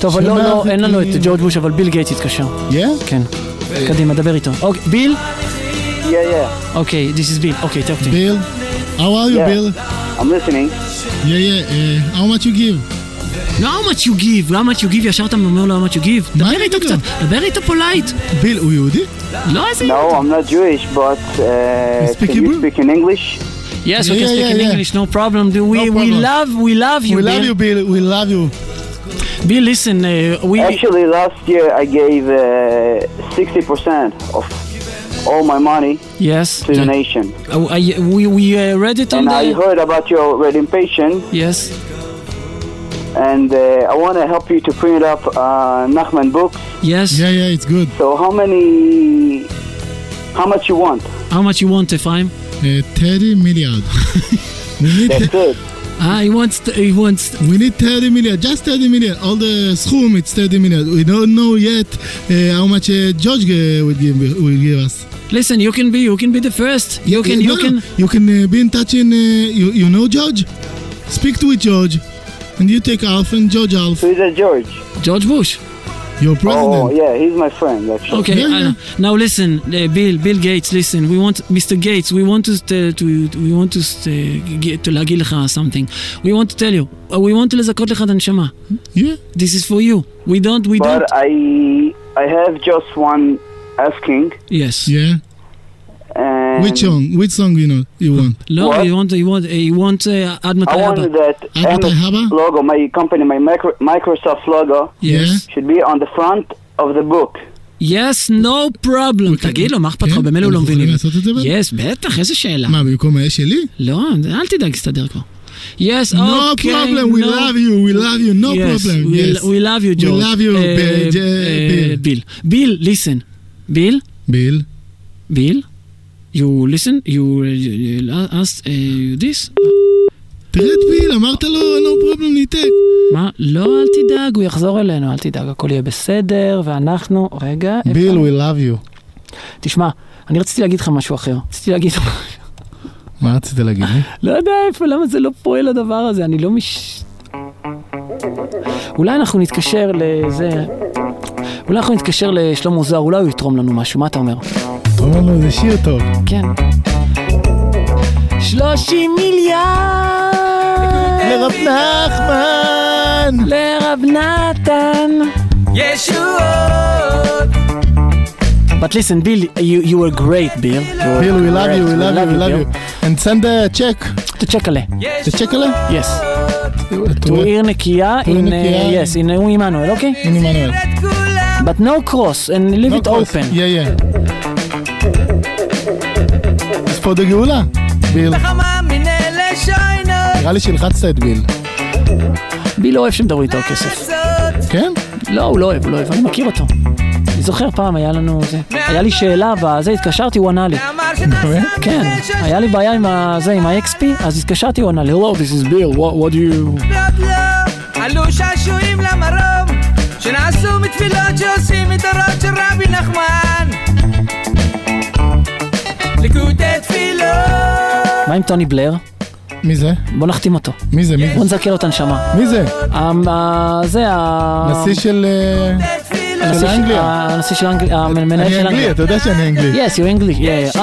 טוב, אבל לא, אין לנו את ג'ורג' בוש, אבל ביל גייטס התקשר. כן. קדימה, דבר איתו. אוקיי, ביל? אוקיי, this is Bill. אוקיי, talk to me. Bill, how are you, Bill? I'm listening. How much you give? לא how much you give, how much you give, ישר אתה אומר לו how much you give. דבר איתו קצת, דבר איתו פולייט. ביל, הוא יהודי? לא, איזה יהודי. No, I'm not Jewish, but can you speak in English? Yes, we can speak in English, no problem. We love you, We love you, Bill, we love you. Bill, listen, Actually, last year I gave 60% of all my money to the nation. We read it on and I heard about your red impatient. Yes. And I want to help you to print up Nachman books. Yes. Yeah, it's good. So how much you want? How much you want, Ephraim? 30 million. That's it. He wants. We need 30 million, just 30 million. All the schum, it's 30 million. We don't know yet how much George will give us. Listen, you can be the first. You can be in touch in. You know George? Speak to George, and you take half and George half. Who is that George? George Bush. Your president. Oh yeah, he's my friend actually. Okay, now listen, Bill Gates. Listen, we want Mr. Gates. We want to להגיד לך something. We want to tell you. We want to לזכות לך את הנשמה. Yeah. This is for you. We don't. But I have just one asking. Yes. Yeah. Which song you want? No, you want Admat I wanted that logo, my company, my Microsoft logo should be on the front of the book. Yes, no problem. תגיד לו, מה אכפת לך? במילא הוא לא מבינים. Yes, בטח, איזה שאלה. מה, במקום היה שלי? לא, אל תדאג, תסתדר כבר. Yes, no problem, we love you, no problem. Yes, we love you, George. We love you, Bill. Bill, listen. Bill? You listen, you asked this? תרד ביל, אמרת לו, no problem, ניתק. מה? לא, אל תדאג, הוא יחזור אלינו, אל תדאג, הכל יהיה בסדר, ואנחנו, רגע. ביל, we love you. תשמע, אני רציתי להגיד לך משהו אחר. מה רצית להגיד לי? לא יודע איפה, למה זה לא פועל הדבר הזה, אני לא אולי אנחנו נתקשר לשלמה זוהר, אולי הוא יתרום לנו משהו, מה אתה אומר? אומר לו, זה שיר טוב. כן. 30 מיליון לרב נחמן, לרב נתן ישועות. But listen, Bill, you were great, Bill. Bill, we love you. And send a check. To Checkale. To Checkale? Yes. To עיר נקייה, yes, in Emmanuel, okay? In Emmanuel. But no cross, and leave it open. Yeah. אז פה דגאולה, ביל. נראה לי שלחצת את ביל. ביל לא אוהב שמדברו איתו כסף. כן? לא, הוא לא אוהב, אני מכיר אותו. אני זוכר פעם, היה לי שאלה, וזה התקשרתי, הוא ענה לי. כן, היה לי בעיה עם ה-XP, אז התקשרתי, הוא ענה לי, hello, this is Bill, what do you... עלו שעשועים למרום, שנעשו מתפילות שעושים מדורות של רבי נחמן. ליקוטי תפילות. מה עם טוני בלר? מי זה? בוא נחתים אותו. מי זה? בוא נזכר אותה נשמה. מי זה? זה נשיא של אנגליה. הנשיא של אנגליה. אני אנגלי, אתה יודע שאני אנגלי. Yes, you're English. Yeah.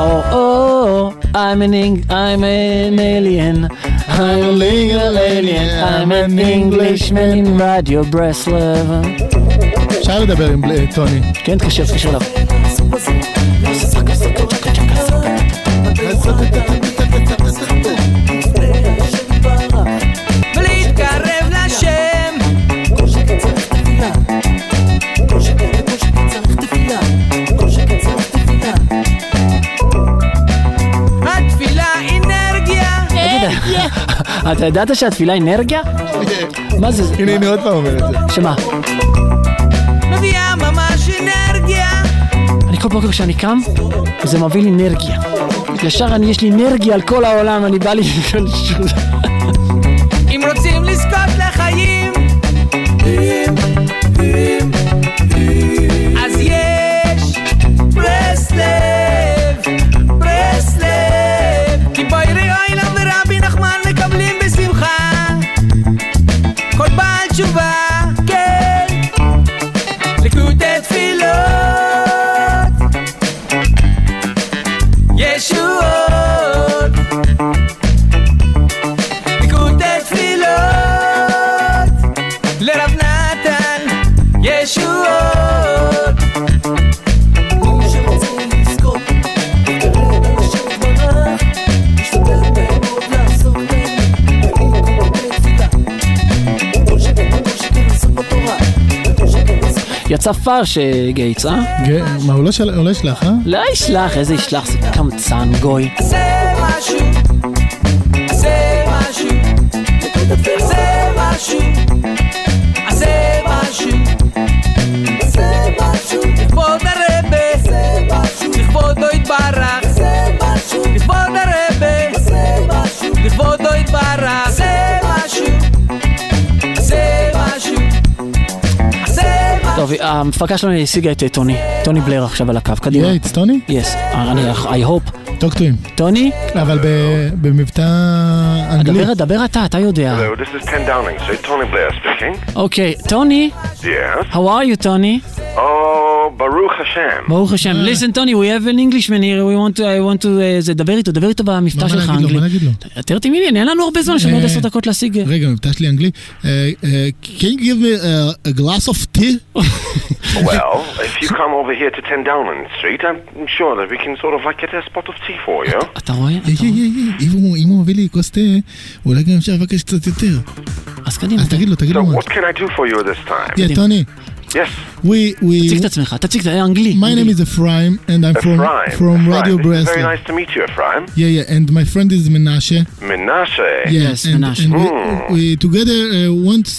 I'm an alien. I'm a legal alien. I'm an Englishman in Radio Breslov. אפשר לדבר עם טוני. כן, תקשר אליו. ולהתקרב לשם התפילה אנרגיה. אתה ידעת שהתפילה אנרגיה? מה זה? הנה אני עוד פעם אומר את זה. שמה? מביאה ממש אנרגיה. אני כל בוקר כשאני קם זה מביא לי אנרגיה. ישר יש לי אנרגיה על כל העולם, אני בא לי... אם רוצים לזכות לחיים אז יש ברסלב, כי בוירי אוילם ורבי נחמן מקבלים בשמחה כל בעל תשובה, כן. צפר שגייטס, מה, הוא לא ישלח, לא ישלח, איזה ישלח, זה קמצן גוי. זה משהו, זה משהו, זה משהו, זה משהו, זה משהו, לכבוד הרבה, זה משהו, לכבודו יתברך, זה משהו, לכבוד הרבה, זה משהו, לכבודו יתברך, זה משהו, זה משהו. טוב, המפקה שלנו השיגה את טוני בלר עכשיו על הקו, קדימה. Yeah, it's Tony? Yes, I hope. Talk to him. טוני? אבל במבטא אנגלי. דבר אתה יודע. Hello, this is Ken Downing, so Tony Blair speaking. Okay, Tony? Yes? How are you, Tony? Oh, Baruch Hashem. ברוך השם. Listen, Tony, we have an Englishman here, I want to, דבר איתו במבטא שלך אנגלי. מה להגיד לו? תרתי מילי, אין לנו הרבה זמן, יש לנו עוד 10 דקות להשיג. רגע, מבטא שלי אנגלי. Can you give me a glass of tea? Well, if you come over here to 10 Downing Street, I'm sure that we can sort of like get a spot of tea for you. אתה רואה? אם הוא מביא לי כוס תה, אולי גם אפשר לבקש קצת יותר. אז קדימה. אז תגיד לו. So what can I do for you this time? Yeah, Tony. Yes. תציג את עצמך, תציג את האנגלי. My name is Ephraim and I'm from Radio Breslov. Very nice to meet you, Ephraim. Yeah, and my friend is Menashe. Menashe. Yes, Menashe. And we together want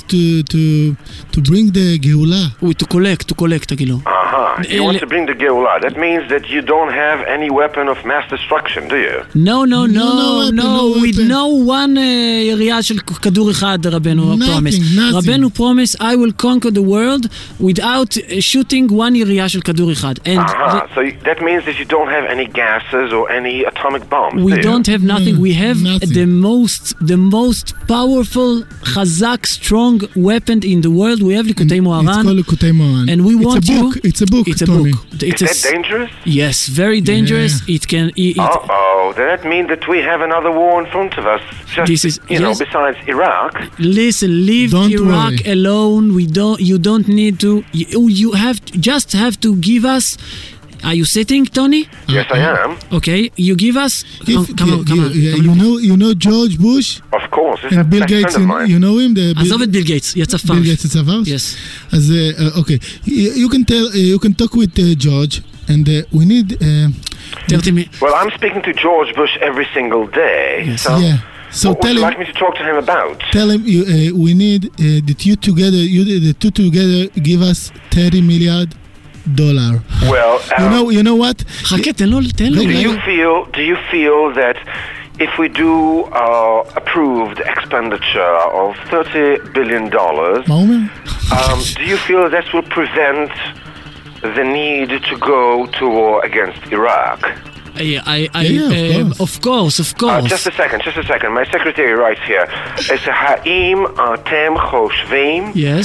to bring the Geula. To collect, תגיד לו. You want to bring the Geulah. That means that you don't have any weapon of mass destruction, do you? No with no one ירייה של כדור אחד, רבנו promise. רבנו promise, I will conquer the world without shooting one ירייה של כדור אחד. So that means that you don't have any gases or any atomic bombs, We don't have nothing. We have the most powerful, חזק, strong weapon in the world. We have ליקוטי מוהר"ן. It's called ליקוטי מוהר"ן. And we want you... It's a book, Tony. Is that dangerous? Yes, very dangerous. Yeah. Then that means that we have another war in front of us. Besides Iraq. Listen, leave Iraq alone. You don't need to. You have to give us. Are you sitting, Tony? Yes, I am. Okay, you give us. Come on. You know George Bush? Of course. And Bill Gates, you know him? עזוב את ביל גייטס, יצא פרש. Bill Gates is a farce? Yes. אז, okay. You can talk with George, and we need... Well, I'm speaking to George Bush every single day. Yes. So Yeah. So what would you like me to talk to him about? Tell him we need that the two together give us $30 million. Well, you know what? חכה, תן לו. Do you feel that if we do approved expenditure of $30 billion, do you feel that will prevent the need to go to war against Iraq? Of course. Just a second. My secretary writes here. האם אתם חושבים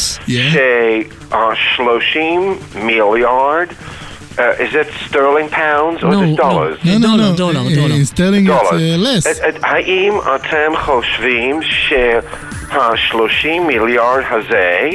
ש-30 מיליארד is it sterling pounds or is it dollars? No. Dollar. Sterling it's less. האם אתם חושבים שה-30 מיליארד הזה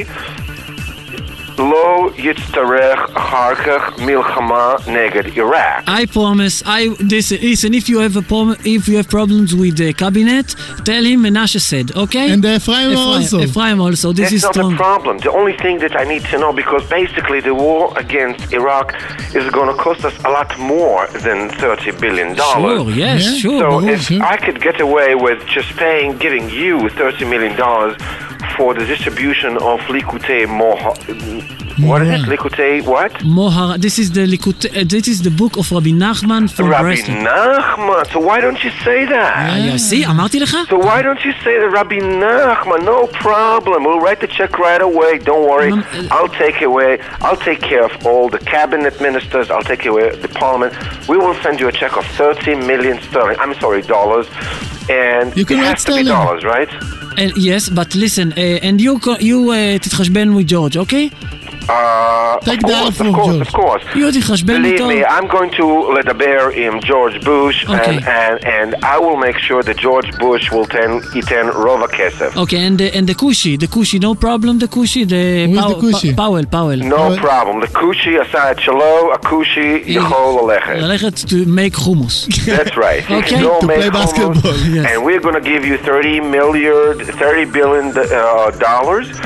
לא יצטרך אחר כך מלחמה נגד Iraq? I promise. Listen. If you have problems with the cabinet, tell him Menashe said. Okay. And Ephraim also. This is strong. That's not a problem. The only thing that I need to know, because basically the war against Iraq is going to cost us a lot more than $30 billion. Sure. Yes. Yeah. Sure. So if I could get away with just giving you $30 million for the distribution of Likutei what is it? Likutei what? Mohar. This is the book of Rabbi Nachman from Breslov. Rabbi Nachman. So why don't you say that? See, אמרתי לך? So why don't you say that Rabbi Nachman? No problem. We'll write the check right away. Don't worry. I'll take care of all the cabinet ministers. I'll take care of the parliament. We will send you a check of $30 million sterling. I'm sorry, dollars. And it has to be dollars, right? Yes, but listen, and you תתחשבן with George, okay? Take that from George. Of course. Believe me, I'm going to לדבר עם George Bush, and I will make sure that George Bush will ייתן רוב הכסף. Okay, and the Kushi, no problem, the Kushi, Powell. No problem. The Kushi עשה את שלו, הכושי יכול ללכת to make hummus. That's right. Okay. To play basketball. And we're going to give you $30 billion,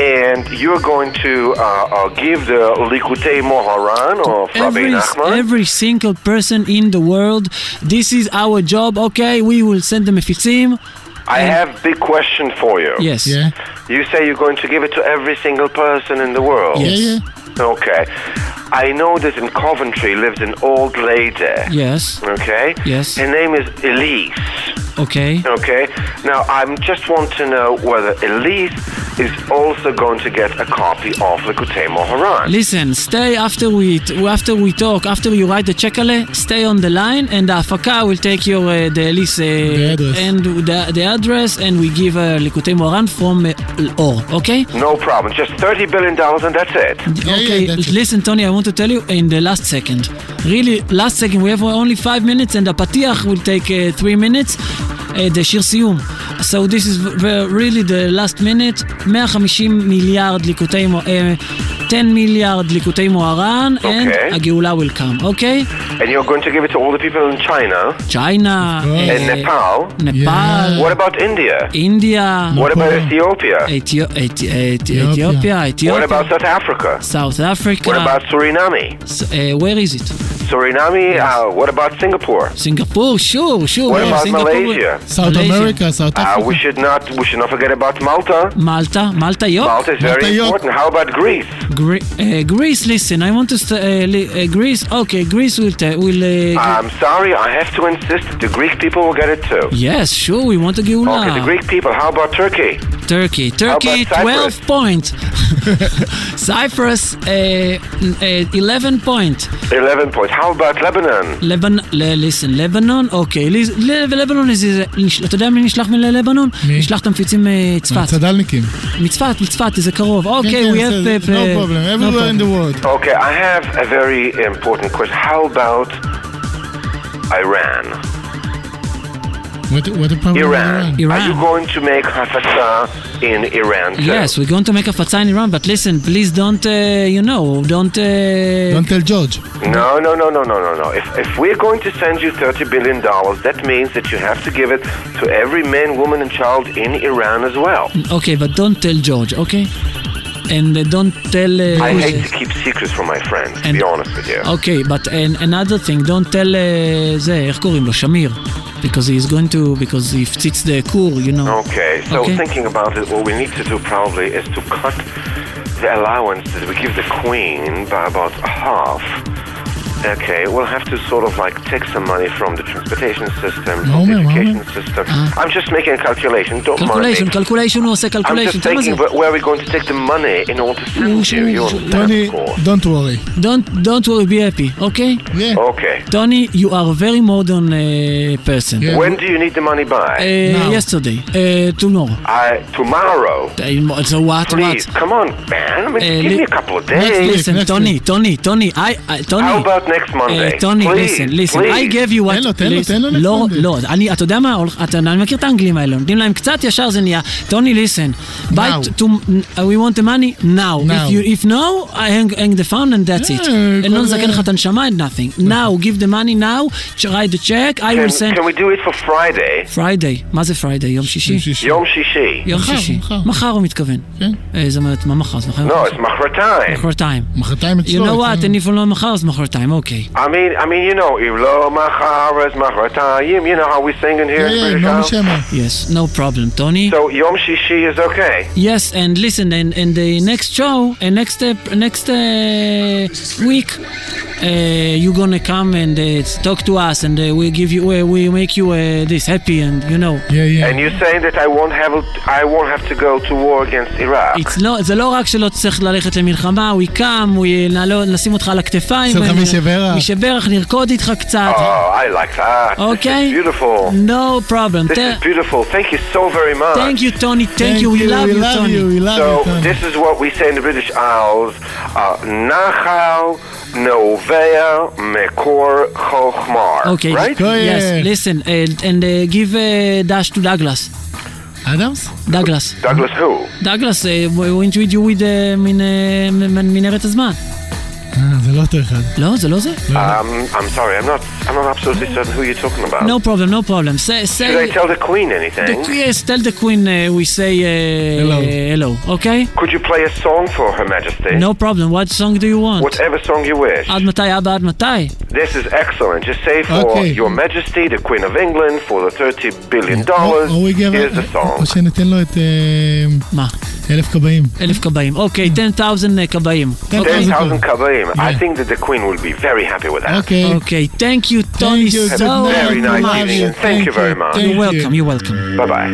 and you're going to give the Likutei Moharan of Rabbi Nachman. Every single person in the world. This is our job. Okay, we will send them mefitzim. I have a big question for you. Yes. Yeah. You say you're going to give it to every single person in the world. Yes. Yeah. Okay. I know that in Coventry lives an old lady. Yes. Okay? Yes. Her name is Elise. Okay. Okay? Now, I just want to know whether Elise is also going to get a copy of Likutei Moharan. Listen, stay after we talk, after you write the chekale, stay on the line, and the Afaka will take your the Elise and the address, and we give Likutei Moharan from Or. Okay? No problem. Just $30 billion and that's it. Okay. that's it. Listen, Tony, I want to tell you in the last second. Really, last second. We have only 5 minutes, and the Patiach will take 3 minutes. The שיר סיום. So this is really the last minute. 150 מיליארד ליקוטי 10 מיליארד ליקוטי מוהר"ן, and הגאולה will come, okay? And you're going to give it to all the people in China? China. And Nepal? Nepal. Yeah. What about India? India. What about Ethiopia? Ethiopia. What about South Africa? South Africa. What about Suriname? Where is it? Suriname? Yes. What about Singapore? Singapore, sure. What about Malaysia? South America, South Africa. We should not forget about Malta. Malta, yup. Malta is very important. How about Greece? Greece, listen, I want to Greece. Okay, Greece will I'm sorry, I have to insist that the Greek people will get it too. Yes, sure, we want a geula. Okay, the Greek people. How about Turkey? Turkey, 12 points. Cyprus, 11 points. 11 points. How about Lebanon? Listen, Lebanon, okay. Lebanon is, אתה יודע מי נשלח מלבנון? נשלח את המפיצים מצפת. צדלניקים. מצפת, זה קרוב. Okay, we have... No problem, everywhere in the world. Okay, I have a very important question. How about Iran? What about Iran? Are you going to make hafetza in Iran too? Yes, we're going to make hafetza in Iran, but listen, please don't, don't tell George. No. If we're going to send you $30 billion, that means that you have to give it to every man, woman, and child in Iran as well. Okay, but don't tell George, okay? And don't tell... I hate to keep secrets from my friends, to be honest with you. Okay, but another thing, don't tell... איך קוראים לו? שמיר. Because he fits the kur, you know. Okay, so thinking about it, what we need to do probably is to cut the allowance that we give the queen by about half. Okay, we'll have to sort of like take some money from the transportation system, from the education system. I'm just making a calculation, don't mind me. Calculation, הוא עושה calculation. I'm just thinking where are we going to take the money in order to send you. Tony, don't worry. Don't worry, be happy, okay? Yeah. Okay. Tony, you are a very modern person. Yeah. When do you need the money by? Yesterday. Tomorrow. Tomorrow? So what? Please, come on, man. Give me a couple of days. Listen, Tony. How about next Monday? Tony, please, listen. I gave you what... תן לו לא, אתה יודע מה? אני מכיר את האנגלים האלה, נותנים להם קצת, ישר זה נהיה. Tony, listen. We want the money now. If no, I hang the phone and that's it. לא נזכן לך את הנשמה and nothing. Now, give the money now, write the check, I will send... Can we do it for Friday? Friday. מה זה Friday? יום שישי? יום שישי. מחר הוא מתכוון. זאת אומרת, מה מחר? No, it's מחרתיים. מחרתיים אצלו. You know what? אני אפילו לא מחר, אז מחרתיים. Okay. I mean, you know, Ilo Macharas Machatayim, you know how we sing in here in British House? Yes, no problem, Tony. So Yom Shishi is okay. Yes, and listen, and the next show, next week, you're gonna come and talk to us, and we make you this happy, and you know. Yeah. And you're saying that I won't have to go to war against Iraq. זה לא רק שלא צריך ללכת למלחמה, we come, נשים אותך על הכתפיים. משברך, נרקוד איתך קצת. Oh, I like that. Okay. This is beautiful. No problem. This is beautiful. Thank you so very much. Thank you, Tony. Thank you. We love you, Tony. So, this is what we say in the British Isles. Nachal Novea Mekor Chochmar. Okay. Right? Yes. Listen, and give dash to Douglas. Adams? Douglas who? Douglas, we introduce you with מנהרת הזמן. זה לא אותו אחד. לא, זה לא זה? I'm sorry, I'm not absolutely certain who you're talking about. No problem. Say, should I tell the Queen anything? Yes, tell the Queen we say hello, okay? Could you play a song for Her Majesty? No problem. What song do you want? Whatever song you wish. עד מתי, אבא, עד מתי? This is excellent. Just say for Your Majesty, the Queen of England, for the $30 billion. Here's the song. או שניתן לו את... מה? 1,000 כבאים. 1,000 כבאים. אוקיי, 10,000 כבאים. 10,000 כבאים. I think that the Queen will be very happy with that. Okay. Thank you, Tony, so much. Have a very nice evening. Thank you very much. You're welcome. Bye-bye.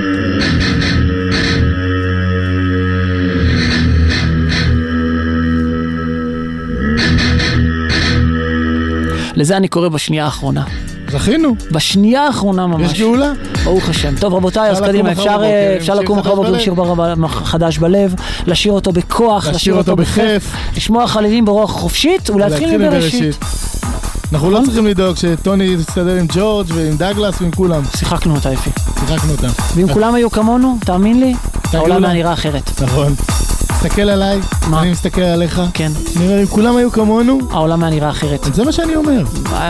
לזה אני קורא בשנייה האחרונה. זכינו. בשנייה האחרונה ממש. יש גאולה. ברוך השם. טוב רבותיי, אז קדימה, אפשר לקום מחר בבוקר לשיר חדש בלב, לשיר אותו בכוח, לשיר אותו בכיף, לשמוע חלילים ברוח חופשית ולהתחיל מבראשית. אנחנו לא צריכים לדאוג שטוני יסתדר עם ג'ורג' ועם דאגלס ועם כולם. שיחקנו אותה יפי. שיחקנו אותה. ואם כולם היו כמונו, תאמין לי, העולם היה נראה אחרת. נכון. תסתכל עליי, אני מסתכל עליך. כן. נראה, אם כולם היו כמונו, העולם היה נראה אחרת. זה מה שאני אומר.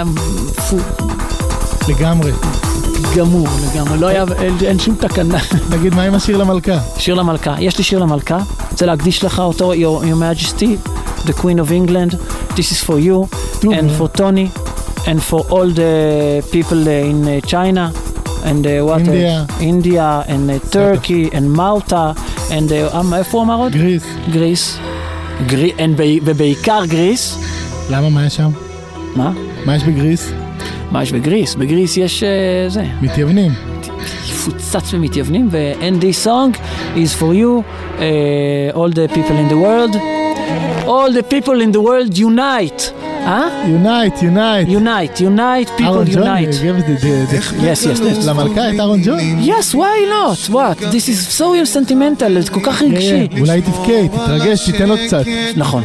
לגמרי. גמור, לא היה, אין שום תקנה. תגיד, מה עם השיר למלכה? שיר למלכה. יש לי שיר למלכה. רוצה להקדיש לך אותו, Your Majesty, the Queen of England. This is for you, and for Tony, and for all the people in China, and India, and Turkey, and Malta, and איפה אמר עוד? גריס. ובעיקר גריס. למה? מה יש שם? מה? מה יש בגריס? מה יש בגריס? בגריס יש זה. מתייוונים. פוצץ במתייוונים, and this song is for you, all the people in the world. All the people in the world unite. Unite, people unite. Yes. למלכה את אהרון ג'ון? Yes, why not? What? This is so sentimental, זה כל כך רגשי. אולי תבכה, תתרגש, תיתן עוד קצת. נכון.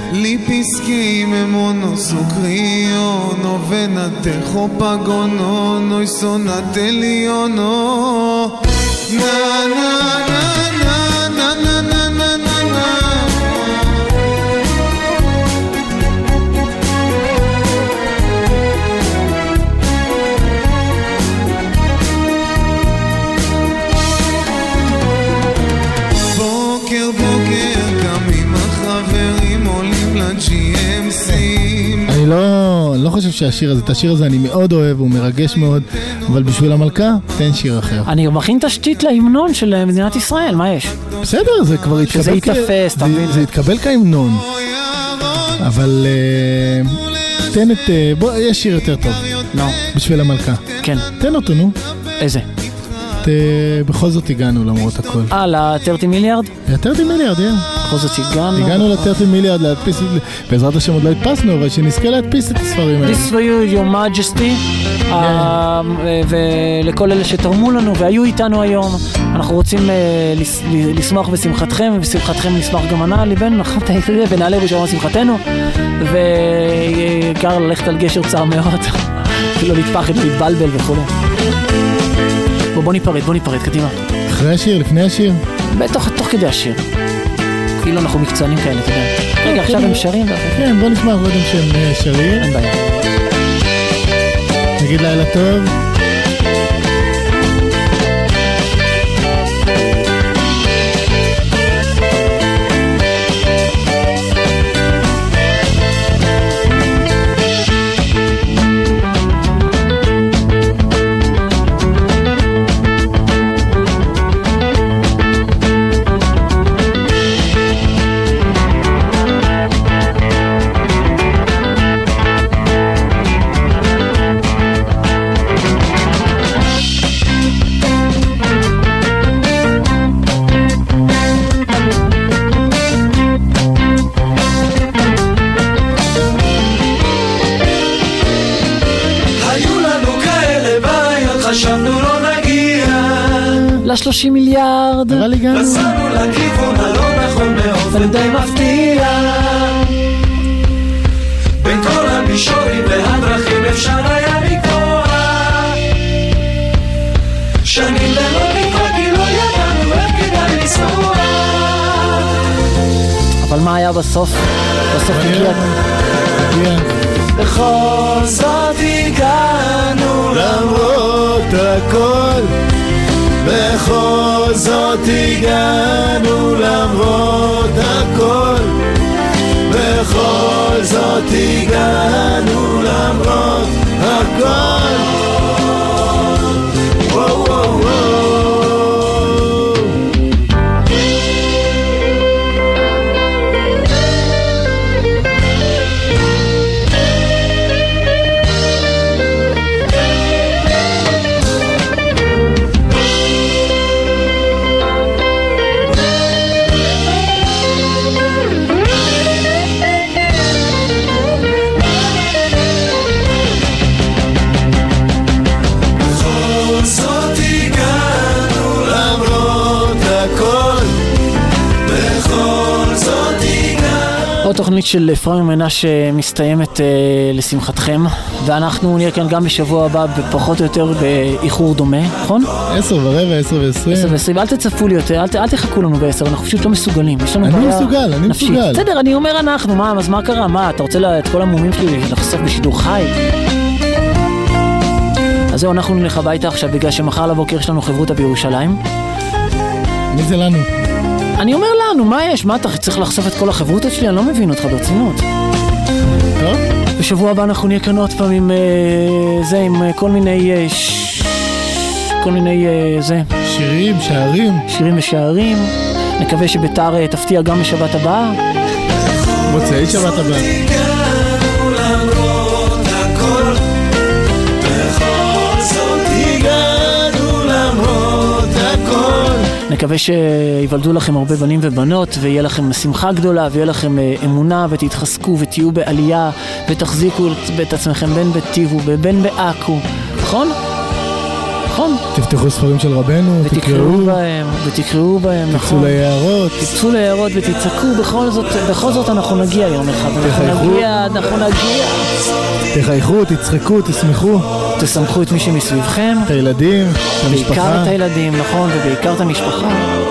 אני לא חושב שהשיר הזה, את השיר הזה אני מאוד אוהב, הוא מרגש מאוד, אבל בשביל המלכה, תן שיר אחר. אני מכין תשתית להמנון של מדינת ישראל, מה יש? בסדר, זה כבר התקבל. שזה יתפס, תמיד. זה התקבל כהמנון. אבל תן את... בוא, יש שיר יותר טוב. בשביל המלכה. כן. תן אותו, נו. איזה? בכל זאת הגענו למרות הכל. ל-30 מיליארד? ל-30 מיליארד, בכל זאת הגענו ל-30 מיליארד להדפיס, בעזרת השם עוד לא הדפסנו, אבל שנזכה להדפיס את הספרים האלה. This for you, Your Majesty, ולכל אלה שתרמו לנו והיו איתנו היום, אנחנו רוצים לשמוח בשמחתכם, ובשמחתכם נשמח גם ענה ליבנו, נכון, ונעלה בשביל שמחתנו, ועיקר ללכת על גשר צר מאוד, ולא להתפחד ולהתבלבל וכו'. בוא ניפרד, קדימה. אחרי השיר, לפני השיר? תוך כדי השיר. כאילו אנחנו מקצוענים כאלה, אתה יודע. רגע, עכשיו הם שרים. כן, בוא נשמע קודם שהם שרים. אין בעיה. נגיד לילה טוב. ל-30 מיליארד, אבל הגענו. נסענו לכיוון הלא נכון באופן די מפתיע, בין כל המישורים והדרכים אפשר היה לקבוע, שנים ללא תקווה כי לא ידענו איך כדאי לנסוע. אבל מה היה בסוף? בסוף הגיע. בכל זאת הגענו למרות הכל, בכל זאת הגענו למרות הכל, בכל זאת הגענו למרות הכל. וואו וואו וואו. עוד תוכנית של אפרים מנשה מסתיימת לשמחתכם, ואנחנו נהיה כאן גם בשבוע הבא בפחות או יותר באיחור דומה, נכון? 10:15, 10:20. 10:20, אל תצפו לי יותר, אל תחכו לנו ב10, אנחנו פשוט לא מסוגלים, יש לנו בעיה נפשית. בסדר, אני אומר אנחנו, אז מה קרה? מה, אתה רוצה את כל המומים שלי לחשוף בשידור חי? אז זהו, אנחנו נלך הביתה עכשיו בגלל שמחר לבוקר יש לנו חברותא בירושלים. מי זה לנו? אני אומר לנו, מה יש? מה אתה צריך לחשוף את כל החברותות שלי? אני לא מבין אותך ברצינות. טוב. בשבוע הבא אנחנו נהיה כאן עוד פעם עם זה, עם כל מיני שירים ושערים. נקווה שביתר תפתיע גם בשבת הבאה. מוצאי שבת הבאה. נקווה שיוולדו לכם הרבה בנים ובנות, ויהיה לכם שמחה גדולה, ויהיה לכם אמונה, ותתחזקו ותהיו בעלייה, ותחזיקו את עצמכם בין בטיבו ובין בעכו, נכון? נכון? תפתחו ספרים של רבנו, ותקראו בהם, נכון? תצאו ליערות ותצעקו, בכל זאת אנחנו נגיע יום אחד, אנחנו נגיע. תחייכו, תצחקו, תשמחו. תשמחו את מי שמסביבכם. את הילדים, את המשפחה. בעיקר את הילדים, נכון, ובעיקר את המשפחה.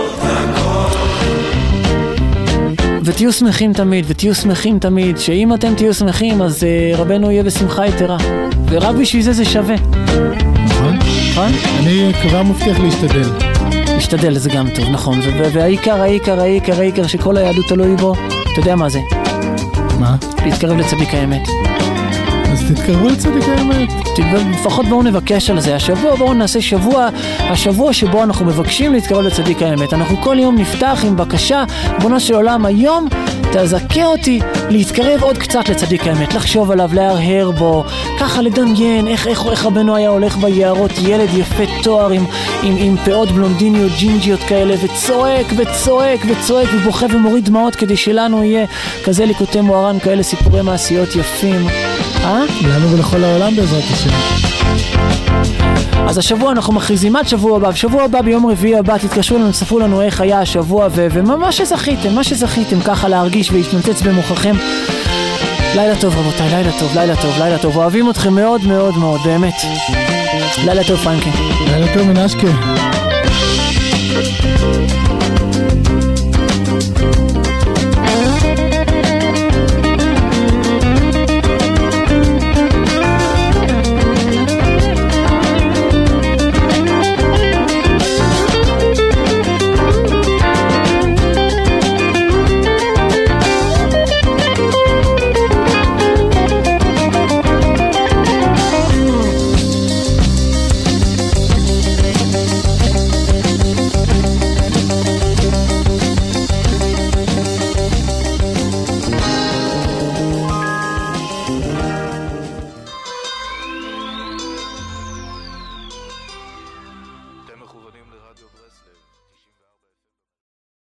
ותהיו שמחים תמיד, שאם אתם תהיו שמחים, אז רבנו יהיה בשמחה יתרה. ורק בשביל זה שווה. נכון? אני כבר מבטיח להשתדל, זה גם טוב, נכון. והעיקר שכל היהדות תלוי בו, אתה יודע מה זה? מה? להתקרב לצדיק האמת. אז תתקרבו לצדיק האמת. לפחות בואו נבקש על זה. בואו נעשה השבוע שבו אנחנו מבקשים להתקרב לצדיק האמת. אנחנו כל יום נפתח עם בקשה, בונו של עולם, היום תזכה אותי להתקרב עוד קצת לצדיק האמת, לחשוב עליו, להרהר בו, ככה לדמיין איך רבנו היה הולך ביערות, ילד יפה תואר עם פאות בלונדיניות, ג'ינג'יות כאלה, וצועק ובוכה ומוריד דמעות, כדי שלנו יהיה כזה ליקוטי מוהר"ן, כאלה סיפורי מעשיות יפים. לנו ולכל העולם בעזרת השם. אז השבוע אנחנו מכריזים עד שבוע הבא ביום רביעי הבא, תתקשרו לנו, תספרו לנו איך היה השבוע ומה שזכיתם ככה להרגיש והתנוצץ במוחכם. לילה טוב רבותיי, לילה טוב, אוהבים אתכם מאוד מאוד מאוד, באמת. לילה טוב פרנקי. לילה טוב מנשקה.